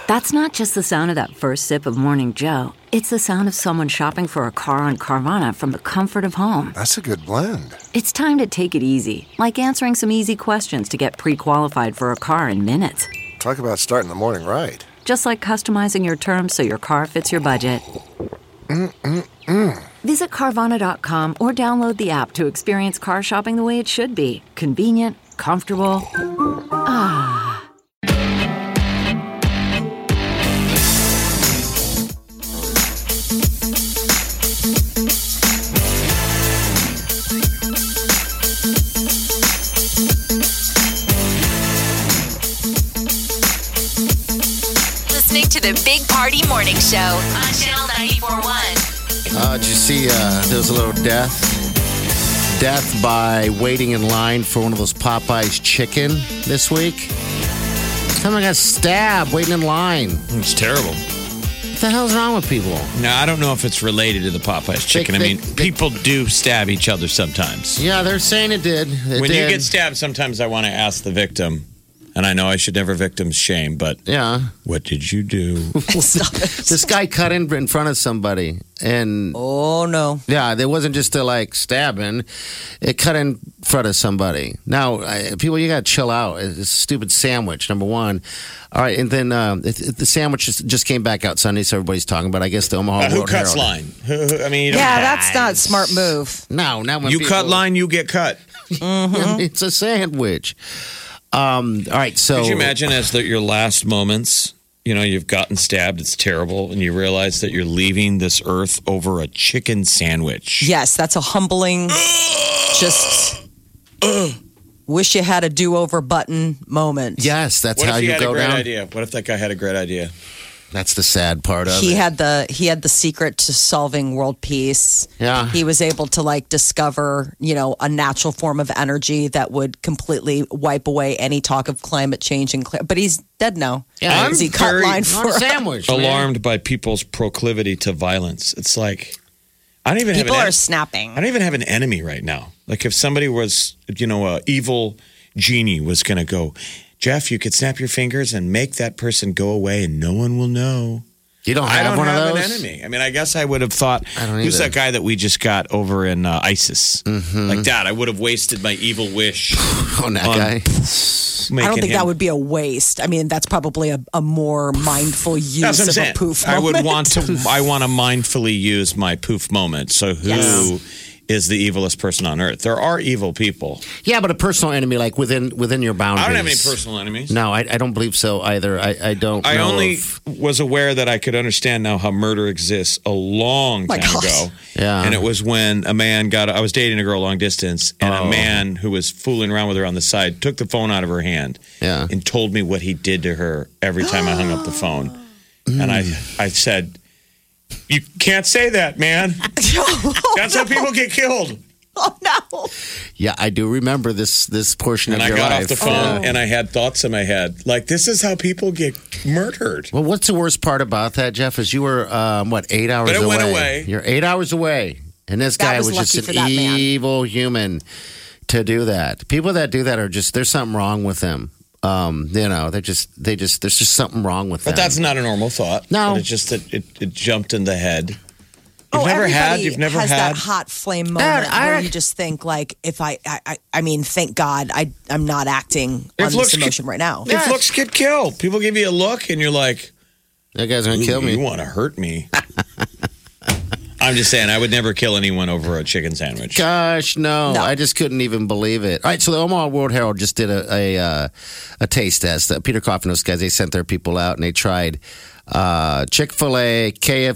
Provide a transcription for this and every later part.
That's not just the sound of that first sip of Morning Joe. It's the sound of someone shopping for a car on Carvana from the comfort of home. That's a good blend. It's time to take it easy, like answering some easy questions to get pre-qualified for a car in minutes. Talk about starting the morning right. Just like customizing your terms so your car fits your budget. Visit Carvana.com or download the app to experience car shopping the way it should be. Convenient, comfortable. Ah. To the Big Party Morning Show on Channel 94.1. Did you see there was a little death by waiting in line for one of those Popeyes chicken this week? Someone got stabbed waiting in line. It's terrible. What the hell's wrong with people? No, I don't know if it's related to the Popeyes chicken. People do stab each other sometimes. Yeah, they're saying it did. When you get stabbed, sometimes I want to ask the victim. And I know I should never victim shame, but what did you do? This guy cut in front of somebody, and oh no, yeah, there wasn't just a stabbing; it cut in front of somebody. Now, people, you got to chill out. It's a stupid sandwich, number one. All right, and then the sandwich just came back out Sunday, so everybody's talking about. I guess the Omaha who World cuts Herald. line? I mean, that's not a smart move. No, not when you people, cut line, you get cut. It's a sandwich. All right, so could you imagine as your last moments, you've gotten stabbed, it's terrible, and you realize that you're leaving this earth over a chicken sandwich. Yes, that's a humbling, just wish you had a do-over button moment. Yes, that's how you go down. What if he had a great idea? What if that guy had a great idea? That's the sad part of it. He had the secret to solving world peace. Yeah. He was able to discover, a natural form of energy that would completely wipe away any talk of climate change but he's dead now. Yeah, I'm he cut line for a sandwich. Alarmed by people's proclivity to violence. It's like people are snapping. I don't even have an enemy right now. Like if somebody was, a evil genie was going to go, Jeff, you could snap your fingers and make that person go away and no one will know. You don't have one of those? I don't have an enemy. I mean, I guess I would have thought, who's that guy that we just got over in ISIS? Mm-hmm. Like that, I would have wasted my evil wish on that guy. I don't think that would be a waste. I mean, that's probably a more mindful use of a poof moment. I want to mindfully use my poof moment. So who is the evilest person on earth? There are evil people. Yeah, but a personal enemy, like within your boundaries. I don't have any personal enemies. No, I don't believe so either. I don't. I only was aware that I could understand now how murder exists a long time ago. Yeah, and it was when a man I was dating a girl long distance, and a man who was fooling around with her on the side took the phone out of her hand, and told me what he did to her every time I hung up the phone, and I said, you can't say that, man. That's how people get killed. Oh, no. Yeah, I do remember this portion of your life. And I got off the phone and I had thoughts in my head. Like, this is how people get murdered. Well, what's the worst part about that, Jeff, is you were, 8 hours away? But it went away. You're 8 hours away. And this guy was just an evil human to do that. People that do that are just, there's something wrong with them. There's just something wrong with them. But that's not a normal thought. No. But it's just that it jumped in the head. You've never had that hot flame moment where you just think if I mean, thank God I'm not acting on this emotion right now. If looks get killed, people give you a look and you're like, that guy's going to kill me. You want to hurt me. I'm just saying, I would never kill anyone over a chicken sandwich. Gosh, no. I just couldn't even believe it. All right, so the Omaha World Herald just did a taste test. Peter Coffin, those guys, they sent their people out and they tried Chick-fil-A,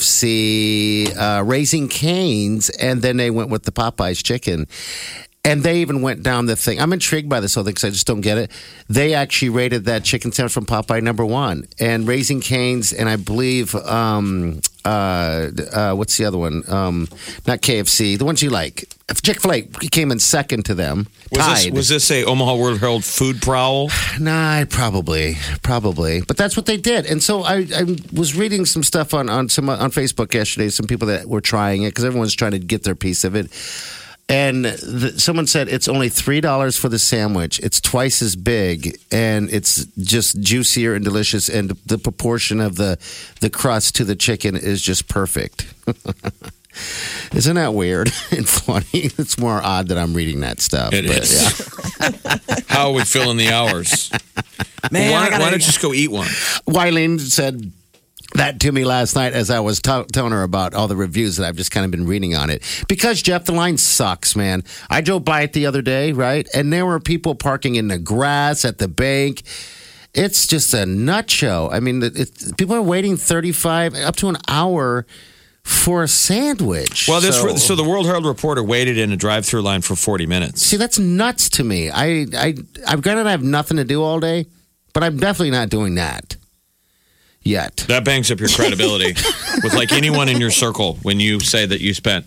KFC, Raising Cane's, and then they went with the Popeyes chicken. And they even went down the thing. I'm intrigued by this whole thing because I just don't get it. They actually rated that chicken sandwich from Popeye #1. And Raising Cane's, and I believe, what's the other one? Not KFC, the ones you like. Chick-fil-A came in second to them. Was this a Omaha World Herald food prowl? Nah, probably. But that's what they did. And so I was reading some stuff on Facebook yesterday, some people that were trying it because everyone's trying to get their piece of it. And someone said it's only $3 for the sandwich. It's twice as big, and it's just juicier and delicious. And the proportion of the crust to the chicken is just perfect. Isn't that weird and funny? It's more odd that I'm reading that stuff. It is. Yeah. How are we filling the hours? Man, why don't you just go eat one? Wileen said that to me last night as I was telling her about all the reviews that I've just kind of been reading on it. Because, Jeff, the line sucks, man. I drove by it the other day, right? And there were people parking in the grass at the bank. It's just a nut show. I mean, people are waiting 35 up to an hour for a sandwich. Well, so the World Herald reporter waited in a drive-through line for 40 minutes. See, that's nuts to me. I've granted I have nothing to do all day, but I'm definitely not doing that yet. That bangs up your credibility with like anyone in your circle when you say that you spent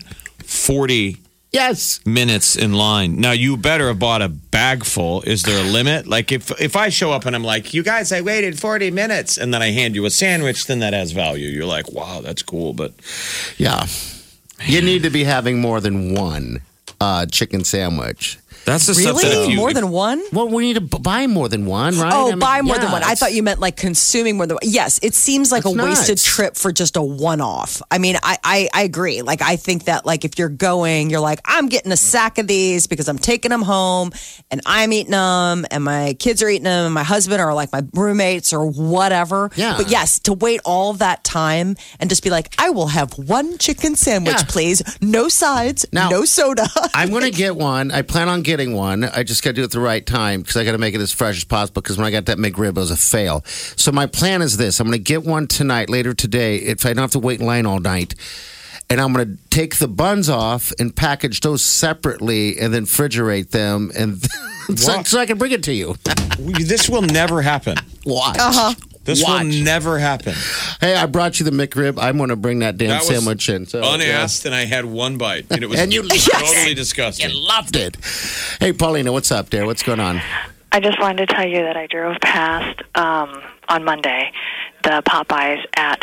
40 minutes in line. Now, you better have bought a bag full. Is there a limit? Like if I show up and I'm like, you guys, I waited 40 minutes, and then I hand you a sandwich, then that has value. You're like, wow, that's cool. But yeah, you need to be having more than one chicken sandwich. That's the really? stuff that more than one? Well, we need to buy more than one, right? Oh, buy more than one. I thought you meant like consuming more than one. Yes, it seems like a wasted trip for just a one-off. I mean, I agree. Like, I think that like if you're going, you're like, I'm getting a sack of these because I'm taking them home and I'm eating them and my kids are eating them and my husband or like my roommates or whatever. Yeah. But yes, to wait all of that time and just be like, I will have one chicken sandwich, please. No sides, no soda. I'm going to get one. I plan on getting one. I just got to do it at the right time because I got to make it as fresh as possible because when I got that McRib, it was a fail. So my plan is this. I'm going to get one tonight, later today, if I don't have to wait in line all night. And I'm going to take the buns off and package those separately and then refrigerate them and so I can bring it to you. This will never happen. Watch. This will never happen. Hey, I brought you the McRib. I'm going to bring that damn sandwich in. So, unasked, and I had one bite. And it was totally disgusting. You loved it. Hey, Paulina, what's up there? What's going on? I just wanted to tell you that I drove past on Monday the Popeyes at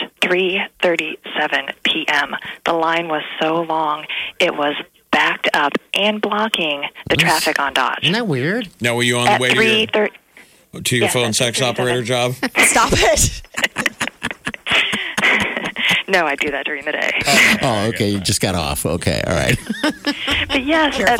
3:37 p.m. The line was so long, it was backed up and blocking the traffic on Dodge. Isn't that weird? Now, were you on the way to your phone sex operator job? Stop it. No, I do that during the day. Oh, okay. You just got off. Okay, all right. But yes, at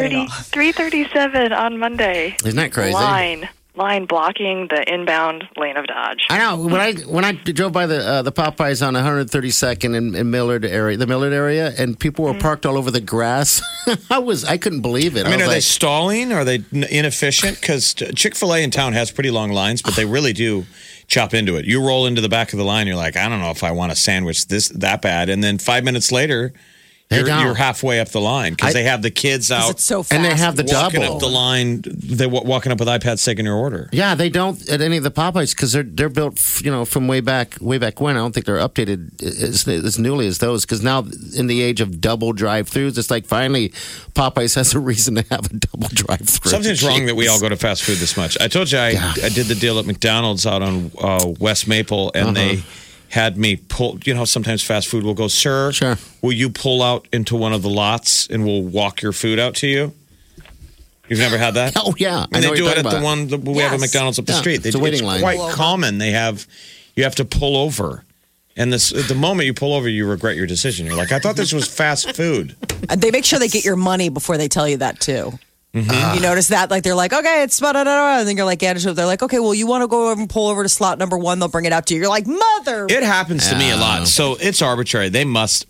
3:37 on Monday. Isn't that crazy? Line blocking the inbound lane of Dodge. I know. When I drove by the Popeyes on 132nd in Millard area, the Millard area, and people were parked all over the grass, I couldn't believe it. I mean, are they stalling? Are they inefficient? Because Chick-fil-A in town has pretty long lines, but they really do chop into it. You roll into the back of the line, you're like, I don't know if I want a sandwich that bad, and then 5 minutes later, you're halfway up the line because they have the kids out. It's so fast. And they have the walking double. Up the line. They're walking up with iPads taking your order. Yeah, they don't at any of the Popeyes because they're built, from way back when. I don't think they're updated as newly as those because now in the age of double drive-throughs, it's like finally Popeyes has a reason to have a double drive-through. Something's wrong that we all go to fast food this much. I told you I did the deal at McDonald's out on West Maple, and they had me pull, sometimes fast food will go, sir, will you pull out into one of the lots and we'll walk your food out to you? You've never had that? Oh, yeah. And they do it at the one that we have at McDonald's up the street. It's a waiting line. Quite common. You have to pull over. And the moment you pull over, you regret your decision. You're like, I thought this was fast food. And they make sure they get your money before they tell you that, too. Mm-hmm. You notice that? Like, they're like, okay, it's and then you're like, they're like, okay, well, you want to go over and pull over to slot number 1, they'll bring it out to you. You're like, mother. It happens to me a lot. So it's arbitrary. They must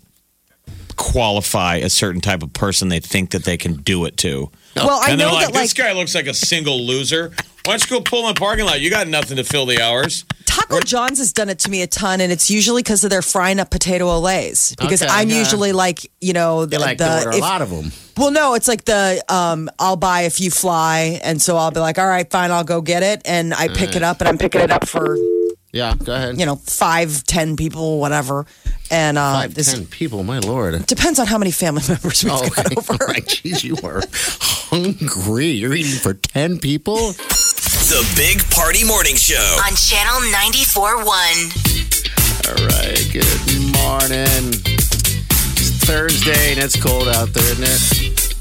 qualify a certain type of person they think that they can do it to. Well, I know like, that, this guy looks like a single loser. Why don't you go pull in the parking lot? You got nothing to fill the hours. Taco John's has done it to me a ton, and it's usually because of their frying up potato olays. Because I'm usually like, you like to order a lot of them. Well, no, it's like I'll buy if you fly, and so I'll be like, all right, fine, I'll go get it, and I pick it up, and I'm picking it up for go ahead. 5-10 people, whatever. And 5-10 people, my Lord. Depends on how many family members we've got over. Right, jeez, you are hungry. You're eating for 10 people? The Big Party Morning Show on Channel 94.1. All right, good morning. It's Thursday and it's cold out there, isn't it?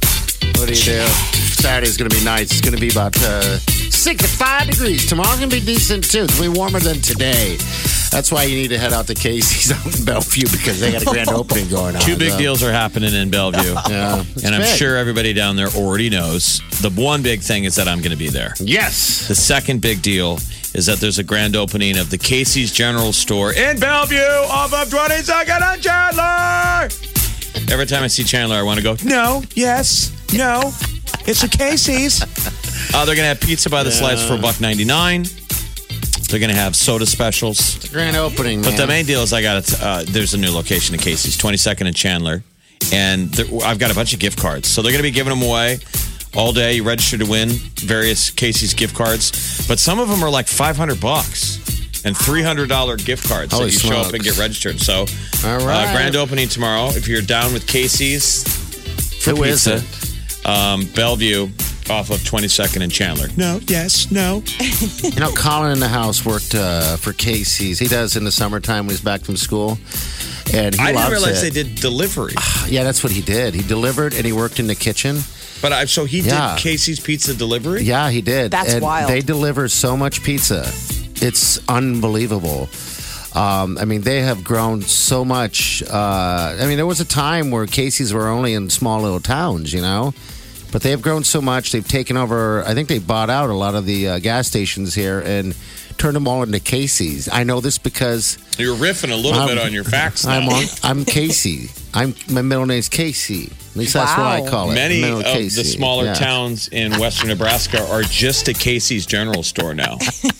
What do you do? Saturday's going to be nice. It's going to be about 65 degrees. Tomorrow's going to be decent, too. It's going to be warmer than today. That's why you need to head out to Casey's out in Bellevue because they got a grand opening going on. Two big deals are happening in Bellevue. Yeah, and I'm big. sure everybody down there already knows. The one big thing is that I'm going to be there. Yes. The second big deal is that there's a grand opening of the Casey's General Store in Bellevue off of 22nd and Chandler. Every time I see Chandler, I want to go, no, yes, no, it's a Casey's. They're going to have pizza by the slice for $1.99. They're going to have soda specials. It's a grand opening, man. But the main deal is there's a new location at Casey's, 22nd and Chandler. And I've got a bunch of gift cards. So they're going to be giving them away all day. You register to win various Casey's gift cards. But some of them are like $500 and $300 gift cards that you show up and get registered. So, all right. Grand opening tomorrow. If you're down with Casey's for pizza, Bellevue off of 22nd and Chandler. No, yes, no. You know, Colin in the house worked for Casey's. He does in the summertime when he's back from school. And he I didn't realize it. they did delivery. Yeah, that's what he did. He delivered and he worked in the kitchen. But so he did Casey's pizza delivery? Yeah, he did. That's wild. They deliver so much pizza. It's unbelievable. I mean, they have grown so much. I mean, there was a time where Casey's were only in small little towns, you know? But they have grown so much. They've taken over, I think they bought out a lot of the gas stations here and turned them all into Casey's. I know this because... You're riffing a little bit on your facts now. I'm Casey. My middle name's Casey. At least that's what I call it. Many of the smaller towns in western Nebraska are just a Casey's General Store now.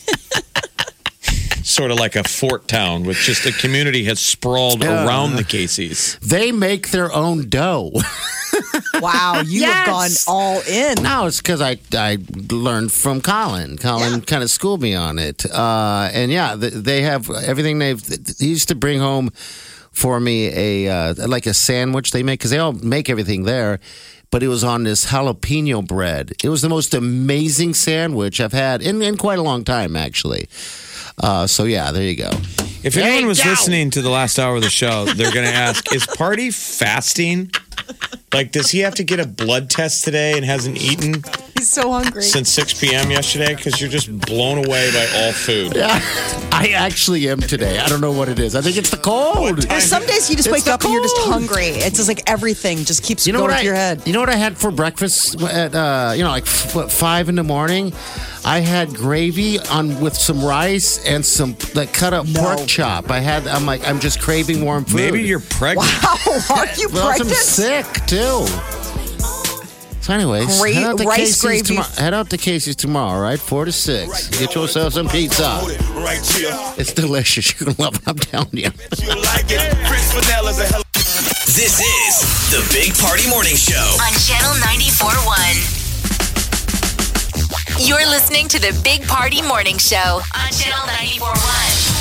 Sort of like a fort town with just a community has sprawled around the Casey's. They make their own dough. Wow, you have gone all in. No, it's because I learned from Colin. Colin kind of schooled me on it. And yeah, they have everything he used to bring home for me like a sandwich they make because they all make everything there. But it was on this jalapeno bread. It was the most amazing sandwich I've had in quite a long time, actually. So yeah, there you go. If anyone was listening to the last hour of the show, they're going to ask, is Party fasting? Like, does he have to get a blood test today and hasn't eaten? He's so hungry. Since 6 p.m. yesterday? Because you're just blown away by all food. Yeah, I actually am today. I don't know what it is. I think it's the cold. There's some days you just wake up and you're just hungry. It's just like everything just keeps going to your head. You know what I had for breakfast at, 5 in the morning? I had gravy with some rice and some cut up pork chop. I'm just craving warm food. Maybe you're pregnant. Wow, are you pregnant? I'm sick too. So anyways, head out to Casey's tomorrow, right? 4 to 6. Get yourself some pizza. It's delicious. You're going to love it. I'm telling you. This is the Big Party Morning Show on Channel 94.1. You're listening to the Big Party Morning Show on Channel 94.1.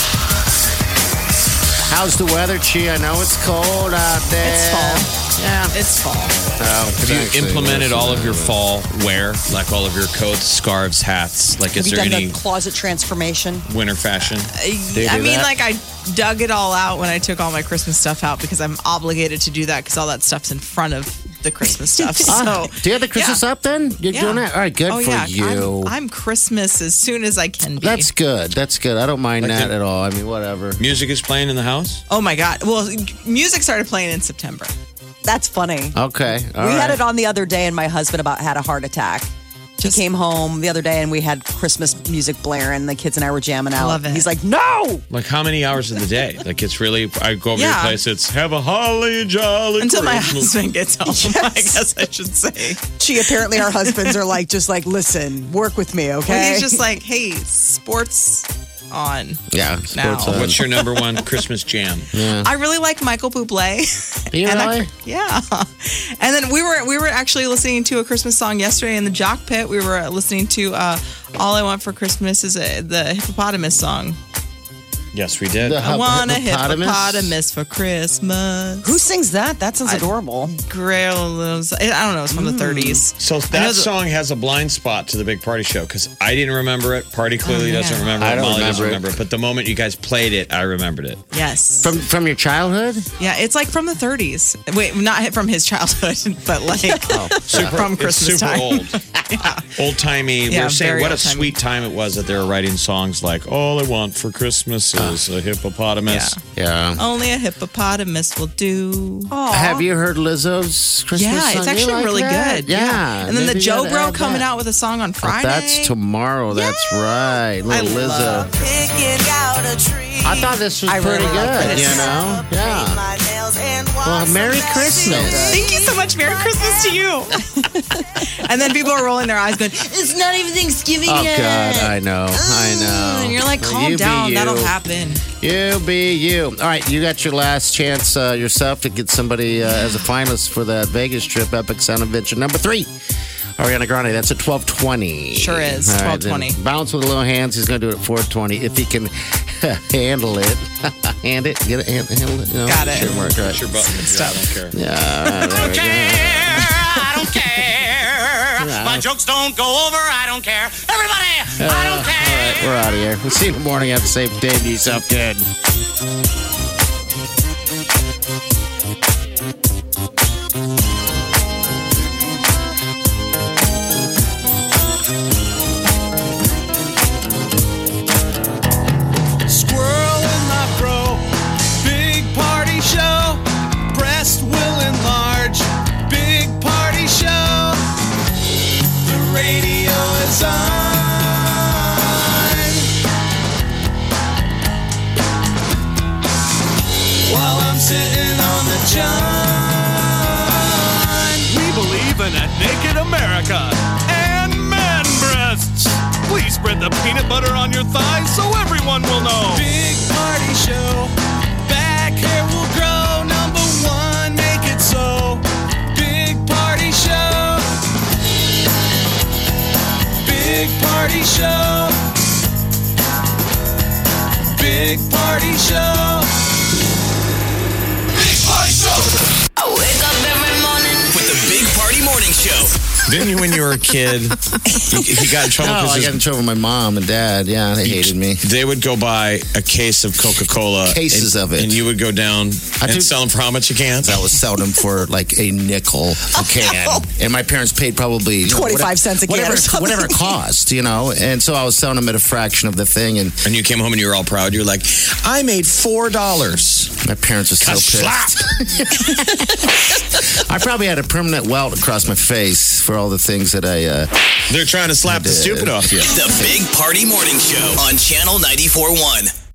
How's the weather, Chi? I know it's cold out there. It's fall. Yeah. It's fall. Have you implemented all of your fall wear? Like all of your coats, scarves, hats? Like, is there any closet transformation? Winter fashion? I dug it all out when I took all my Christmas stuff out because I'm obligated to do that because all that stuff's in front of the Christmas stuff. So, do you have the Christmas up then? You're doing that? All right, good for you. I'm Christmas as soon as I can be. That's good. I don't mind that at all. I mean, whatever. Music is playing in the house? Oh, my God. Well, music started playing in September. That's funny. Okay. We had it on the other day, and my husband had a heart attack. He came home the other day, and we had Christmas music blaring. The kids and I were jamming out. Love it. He's like, no! Like, how many hours of the day? Like, it's really, I go over to your place, it's have a holly jolly Until my Christmas. husband gets home, Yes. I guess I should say. Apparently our husbands are listen, work with me, okay? Well, he's just like, hey, sports on. Yeah, now. sports on. What's your number one Christmas jam? Yeah. I really like Michael Bublé. You really? Yeah. And then we were actually listening to a Christmas song yesterday in the Jock Pit. We were listening to All I Want for Christmas is the Hippopotamus song. Yes, we did. I want a hippopotamus for Christmas. Who sings that? That sounds adorable. Grail, I don't know. It's from the 30s. So that song has a blind spot to the Big Party Show because I didn't remember it. Party clearly doesn't remember it. I don't Molly doesn't remember remember it. But the moment you guys played it, I remembered it. Yes. From your childhood? Yeah, it's like from the 30s. Wait, not from his childhood, but like from Christmas super time. Old. Old timey. We were saying what a sweet time it was that they were writing songs like "All I Want for Christmas is a hippopotamus." Yeah. Only a hippopotamus will do. Aww. Have you heard Lizzo's Christmas song? Yeah, it's actually really good. Yeah. And then the Maybe Joe you Bro gotta add coming that. out with a song on Friday. That's tomorrow. That's right. Little Lizzo. I thought this was pretty good, you know? Yeah. Well, Merry Christmas. Thank you so much. Merry Christmas to you. And then people are rolling their eyes going, it's not even Thanksgiving yet. Oh, God, I know. And you're like, calm down. That'll happen. You be you. All right, you got your last chance yourself to get somebody as a finalist for that Vegas trip, Epic Sound Adventure number 3. Ariana Grande, that's at 12:20. Sure is, 12:20. Bounce with the little hands. He's going to do it at 4:20 if he can handle it. Handle it. You know, got it. Should work, right? Push your button. Stuff. I don't care. Yeah. I don't care. My jokes don't go over. I don't care. Everybody, I don't care. All right, we're out of here. We'll see you in the morning. Have a safe day. Do yourself good. Squirrel in my fro. Big party show. Breast will enlarge. Big party show. The radio is on. While I'm sitting on the john. We believe in a naked America and man breasts. Please spread the peanut butter on your thighs so everyone will know. Big party show. Back hair will grow. Number 1, make it so. Big party show. Big party show. Big party show. Big Party Show I wake up every morning. with the Big Party Morning Show. Didn't you, when you were a kid, you got in trouble I got in trouble with my mom and dad. Yeah, they hated me. They would go buy a case of Coca-Cola. Cases of it. And you would go down and sell them for how much a can? I was selling them for like a nickel a can. And my parents paid probably 25 cents a can or something. whatever it cost, you know. And so I was selling them at a fraction of the thing. And you came home and you were all proud. You're like, I made $4. My parents were so pissed. I probably had a permanent welt across my face for all the things that I... They're trying to slap the stupid off you. The Big Party Morning Show on Channel 94.1.